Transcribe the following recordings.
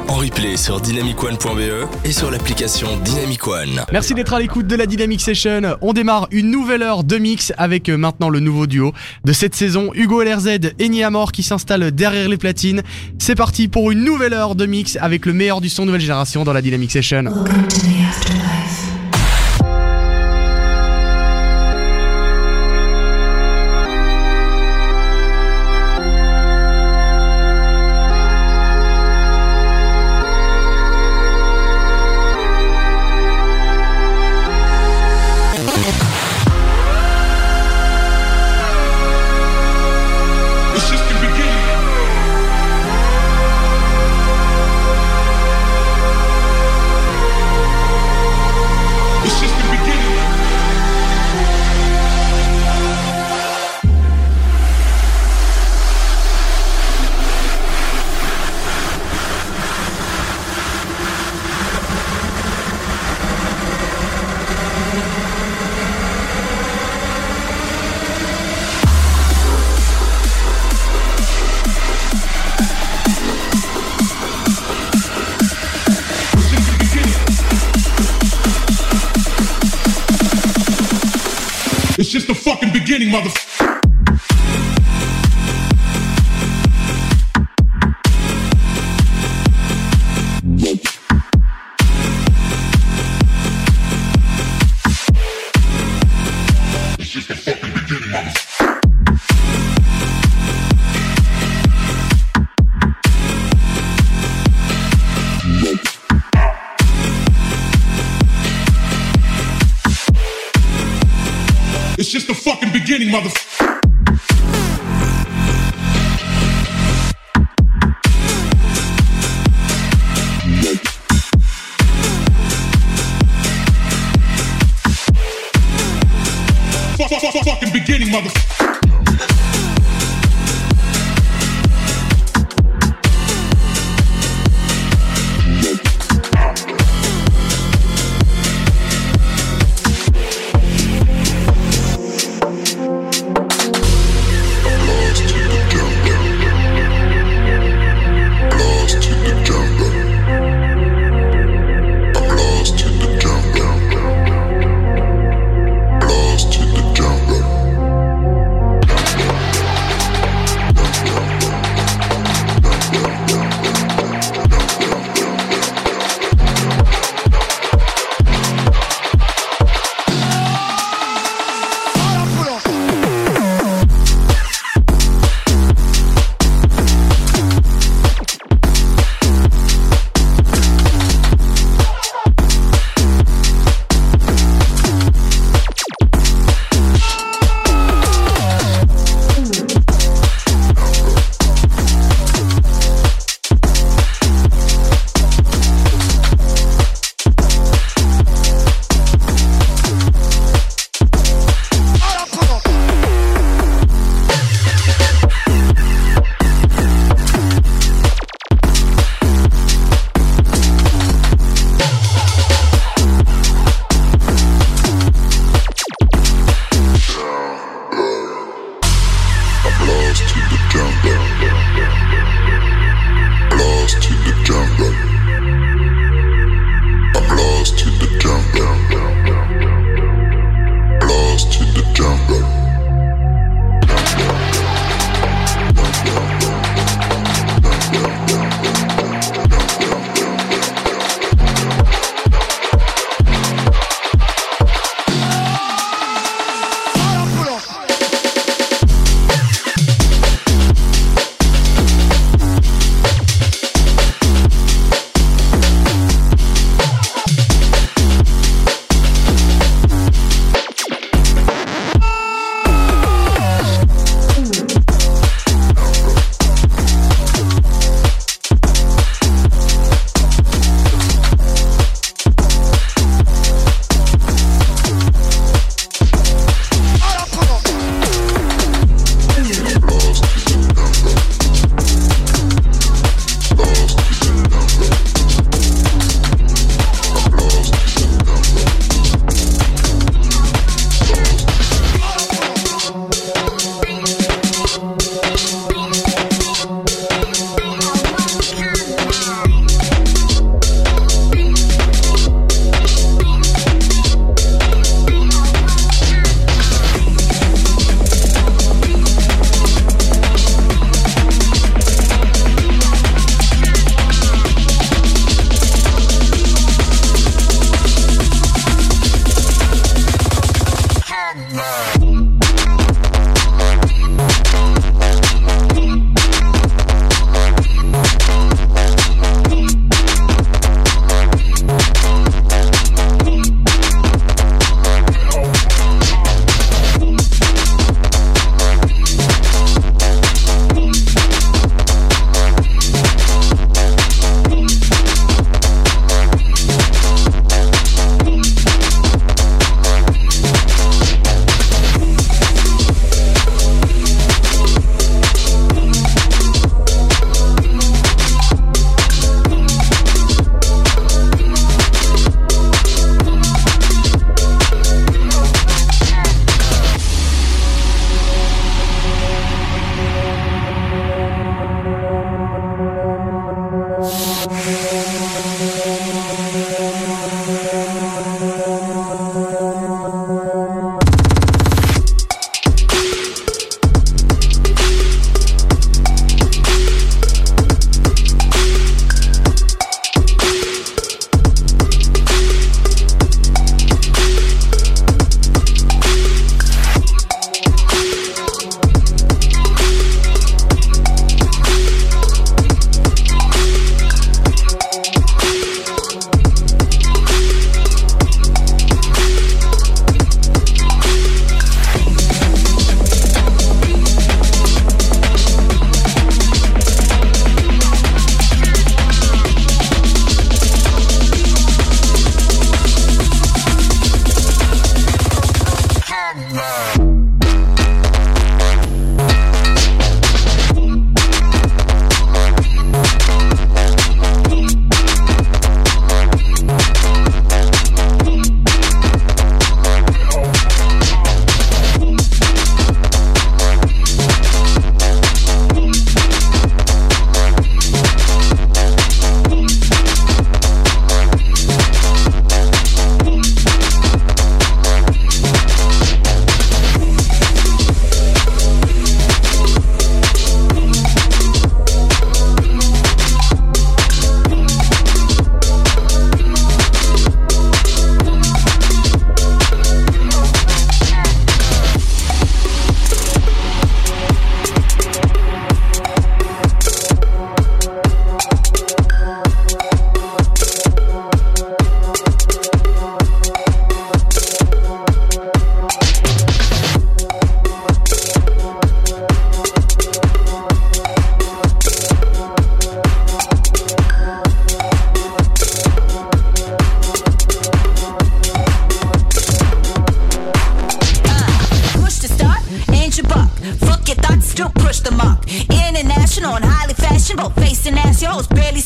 en replay sur dynamicone.be et sur l'application Dynamic One. Merci d'être à l'écoute de la Dynamic Session. On démarre une nouvelle heure de mix avec maintenant le nouveau duo de cette saison, Hugo LRZ et Niamor qui s'installent derrière les platines. C'est parti pour une nouvelle heure de mix avec le meilleur du son nouvelle génération dans la Dynamic Session. Welcome to the afterlife. It's just the fucking beginning, motherfucker. It's just the fucking beginning, motherfucker. It's just the fucking beginning, motherfucker. Fucking beginning, motherfucker.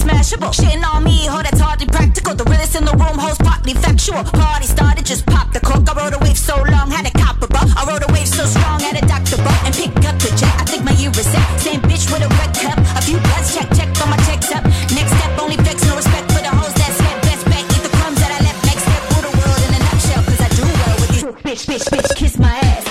smashable. Shitting on me, oh, that's hardly practical. The realest in the room, host partly factual. Party started, just pop the cork. I rode a wave so long, had a copper bra. I rode a wave so strong, had a doctor bra. And pick up the jet, I think my year is set. Same bitch with a red cup. A few bloods, check, on my checks up. Next step, only vex, no respect for the hoes that slept. Best bet, eat the crumbs that I left. Next step, rule the world in a nutshell. Cause I do well with you. Bitch, kiss my ass.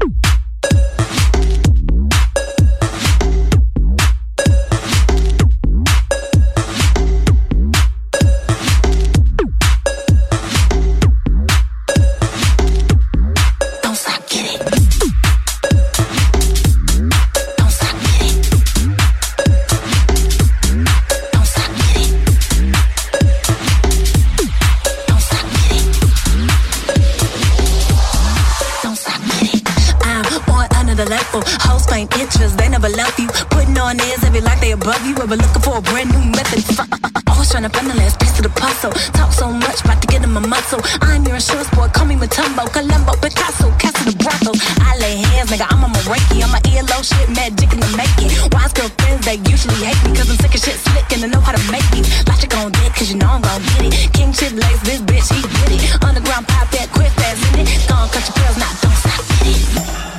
Above you, ever looking for a brand new method? Always trying to find the last piece of the puzzle. Talk so much, about to get in my muscle. I'm your insurance boy, call me Matumbo, Columbo, Picasso, Castle the brothels. I lay hands, nigga, I'm on my Reiki. I'm my ELO shit, magic in the making. Wise girl friends, they usually hate me, cause I'm sick of shit slick and I know how to make these. Logic on deck, cause you know I'm gon' get it. King shit lace, this bitch, he get it. Underground pop that, quick fast in it. Gone cut your pearls, now don't stop, get it.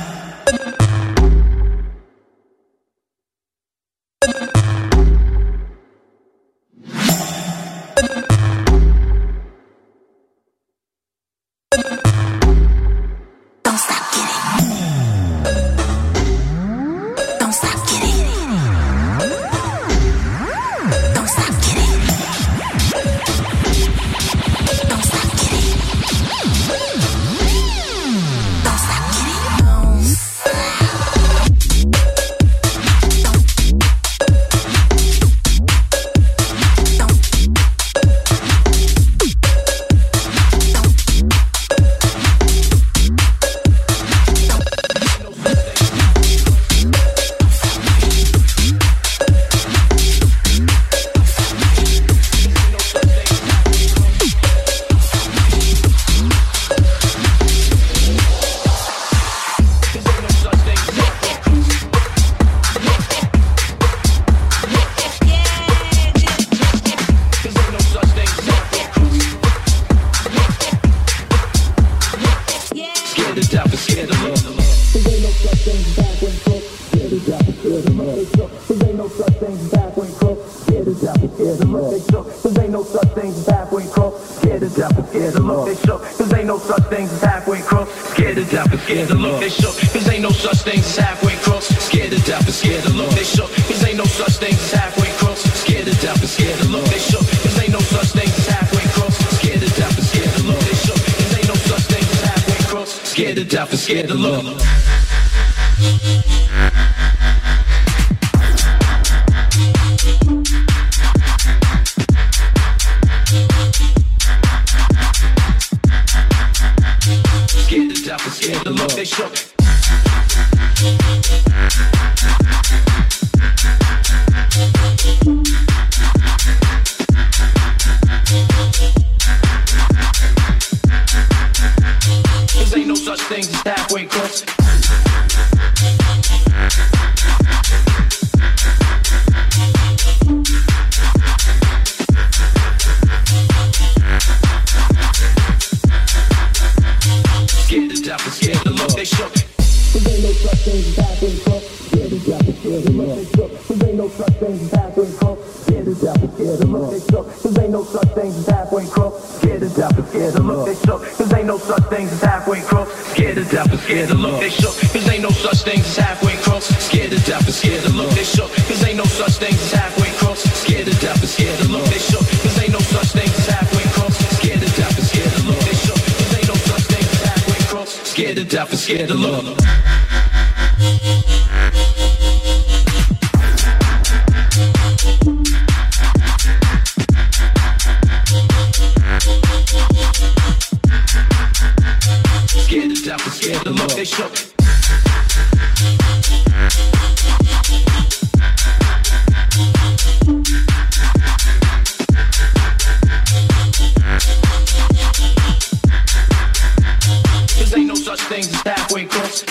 Scared to look. Scared to death and scared to look. They shook. Things is halfway close. Scared to death and scared to look. They shook. Cause ain't no such thing as halfway close. Scared to death and scared to look. They shook. Cause ain't no such thing as halfway close. Scared to death and scared to look. They shook. Cause ain't no such thing as halfway close. Scared to death and scared to look. They shook. Cause ain't no such thing as halfway close. Scared to death and scared to look. They shook. Cause ain't no such thing as halfway close. Scared to death and scared to look. They shook. Cause ain't no such thing as halfway close. Scared to death and scared to look. They shook. Cause ain't no such thing as halfway close. Scared to death and scared to look. They shook. Cause ain't no such thing as halfway close. Scared to death and scared to look. Scared to death and scared to look. They shook. Cause ain't no such thing as halfway close.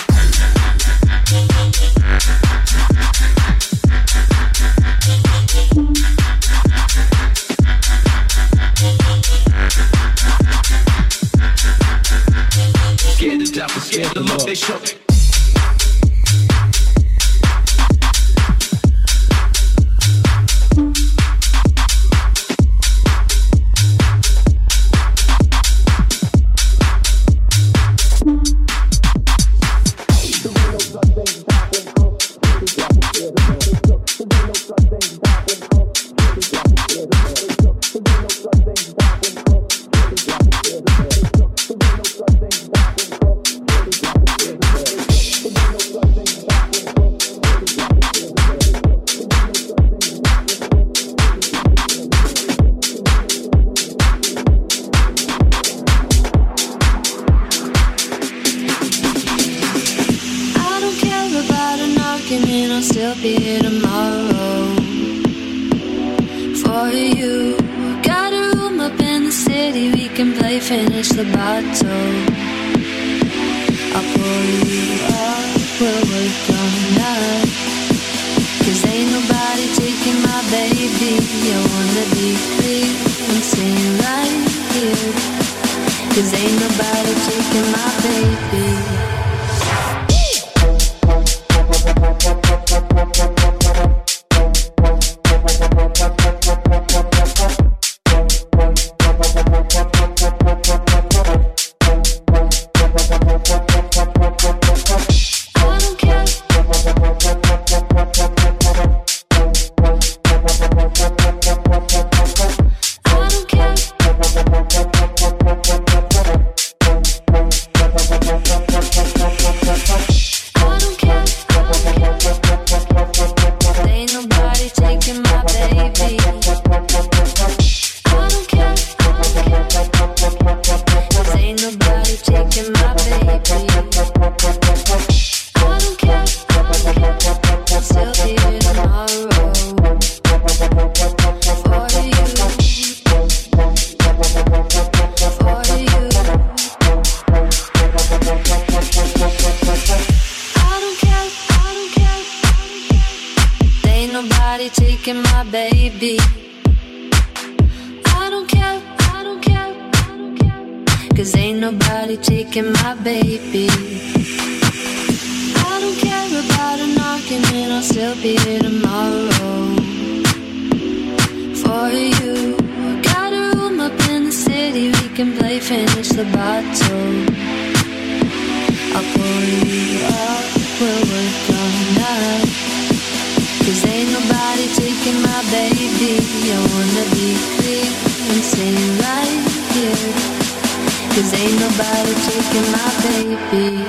they shook. I'll still be here tomorrow for you. Got a room up in the city, we can play finish the bottle. I'll pour you up, we'll work all night. 'Cause ain't nobody taking my baby. I wanna be free and staying right here. 'Cause ain't nobody taking my baby. Taking my baby. I don't care, I don't care, I don't care. 'Cause ain't nobody taking my baby. I don't care about an argument, I'll still be here tomorrow for you. Got a room up in the city, we can play finish the bottle. I'll pour you up, we'll work all night. 'Cause ain't nobody taking my baby. I wanna be free and staying right here. 'Cause ain't nobody taking my baby.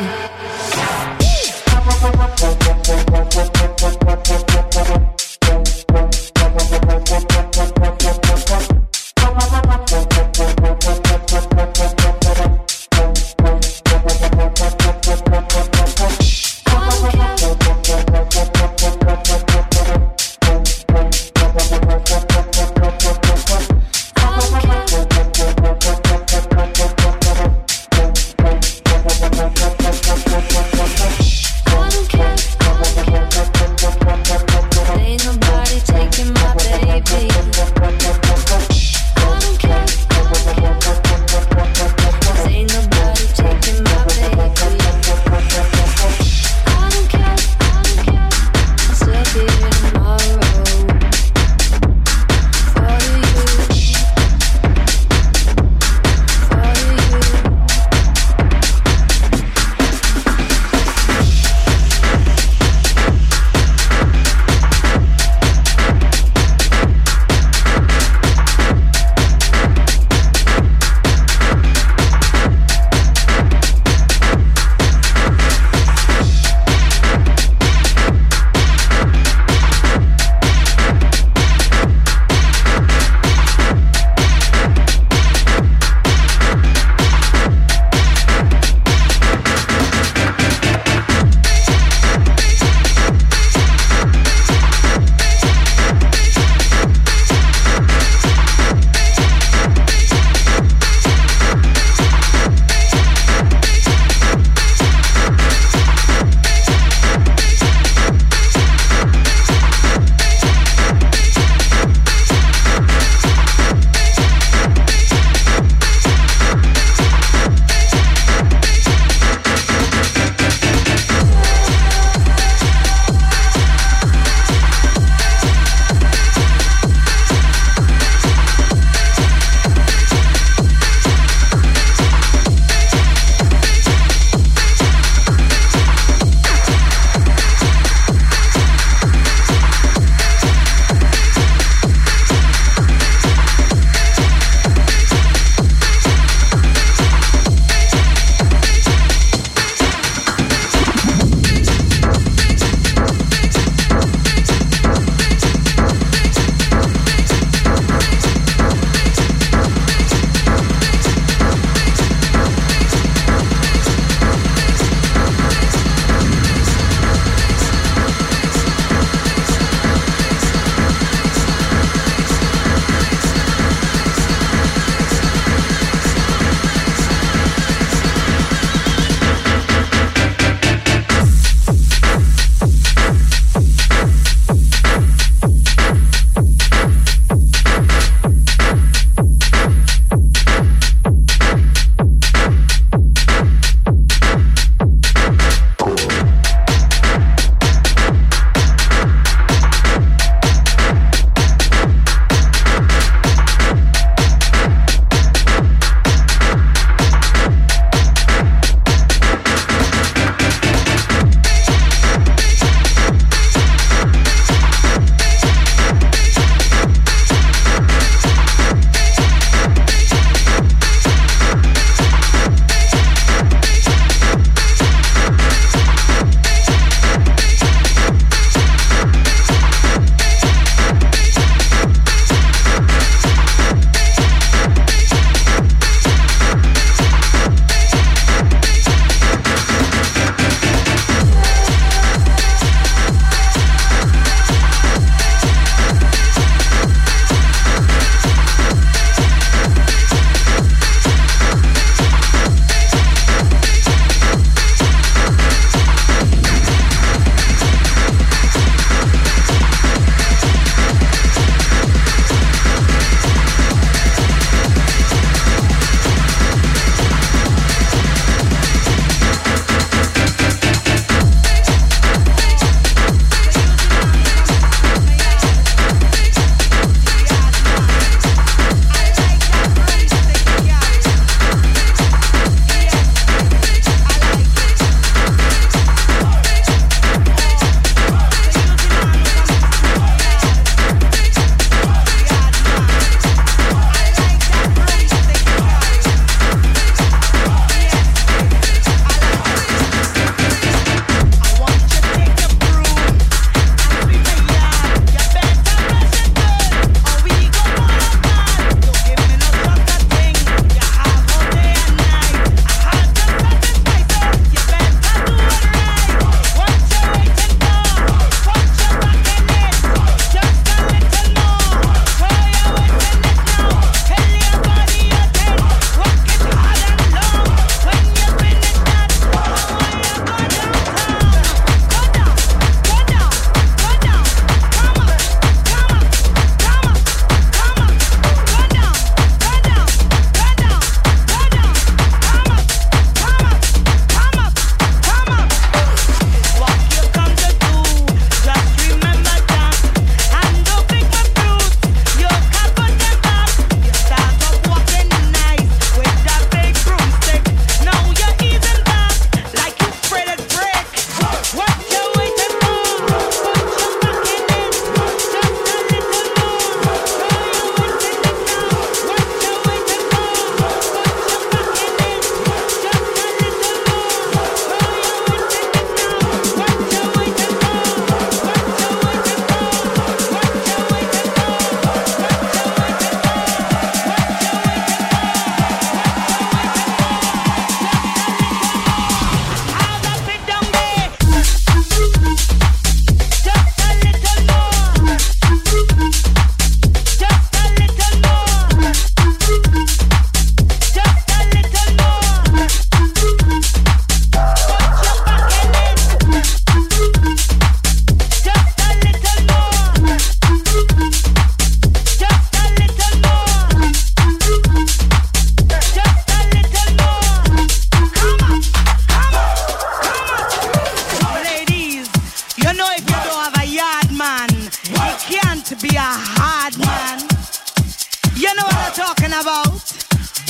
you're talking about.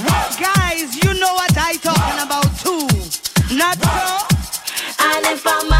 Guys, you know what I talking about too. Not so. And if I'm